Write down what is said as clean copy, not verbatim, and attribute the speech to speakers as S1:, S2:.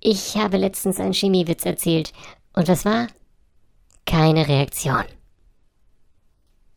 S1: Ich habe letztens einen Chemiewitz erzählt. Und was war? Keine Reaktion.